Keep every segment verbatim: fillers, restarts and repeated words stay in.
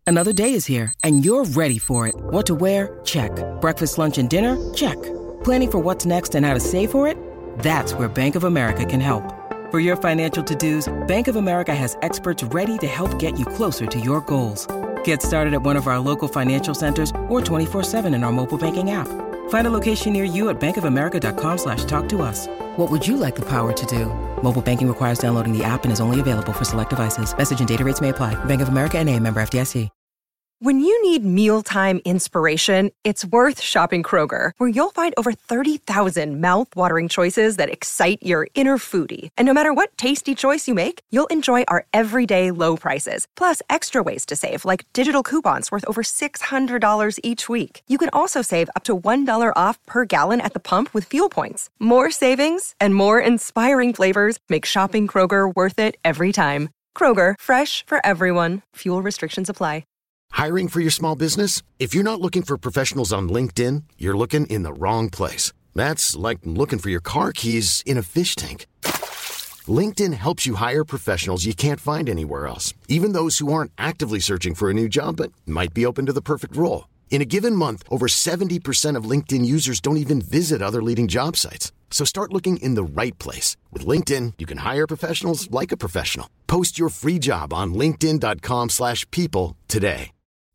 Another day is here, and you're ready for it. What to wear? Check. Breakfast, lunch, and dinner? Check. Planning for what's next and how to save for it? That's where Bank of America can help. For your financial to-dos, Bank of America has experts ready to help get you closer to your goals. Get started at one of our local financial centers or twenty-four seven in our mobile banking app. Find a location near you at bankofamerica.com slash talk to us. What would you like the power to do? Mobile banking requires downloading the app and is only available for select devices. Message and data rates may apply. Bank of America N A, member F D I C. When you need mealtime inspiration, it's worth shopping Kroger, where you'll find over thirty thousand mouth-watering choices that excite your inner foodie. And no matter what tasty choice you make, you'll enjoy our everyday low prices, plus extra ways to save, like digital coupons worth over six hundred dollars each week. You can also save up to one dollar off per gallon at the pump with fuel points. More savings and more inspiring flavors make shopping Kroger worth it every time. Kroger, fresh for everyone. Fuel restrictions apply. Hiring for your small business? If you're not looking for professionals on LinkedIn, you're looking in the wrong place. That's like looking for your car keys in a fish tank. LinkedIn helps you hire professionals you can't find anywhere else, even those who aren't actively searching for a new job but might be open to the perfect role. In a given month, over seventy percent of LinkedIn users don't even visit other leading job sites. So start looking in the right place. With LinkedIn, you can hire professionals like a professional. Post your free job on linkedin.com slash people today.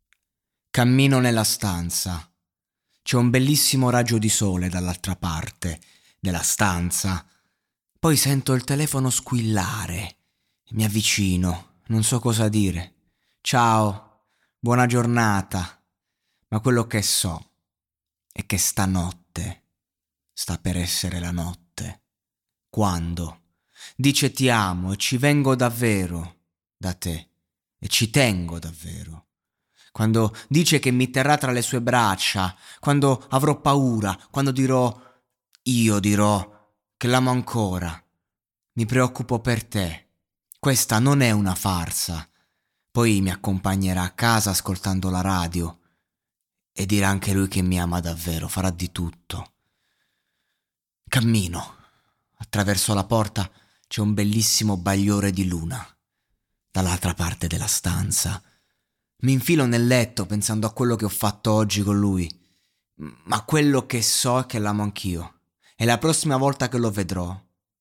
Cammino nella stanza. C'è un bellissimo raggio di sole dall'altra parte della stanza. Poi sento il telefono squillare. Mi avvicino, non so cosa dire. Ciao, buona giornata. Ma quello che so è che stanotte sta per essere la notte. Quando dice ti amo e ci vengo davvero da te e ci tengo davvero. Quando dice che mi terrà tra le sue braccia, quando avrò paura, quando dirò, io dirò che l'amo ancora. Mi preoccupo per te. Questa non è una farsa. Poi mi accompagnerà a casa ascoltando la radio e dirà anche lui che mi ama davvero, farà di tutto. Cammino. Attraverso la porta c'è un bellissimo bagliore di luna. Dall'altra parte della stanza mi infilo nel letto pensando a quello che ho fatto oggi con lui, ma quello che so è che l'amo anch'io e la prossima volta che lo vedrò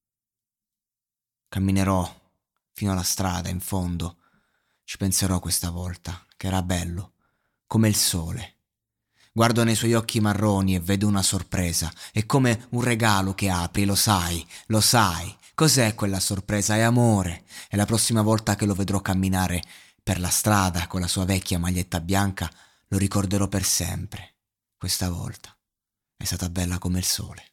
camminerò fino alla strada in fondo, ci penserò questa volta che era bello come il sole. Guardo nei suoi occhi marroni e vedo una sorpresa, è come un regalo che apri, lo sai, lo sai. Cos'è quella sorpresa? È amore. E la prossima volta che lo vedrò camminare per la strada con la sua vecchia maglietta bianca, lo ricorderò per sempre. Questa volta è stata bella come il sole.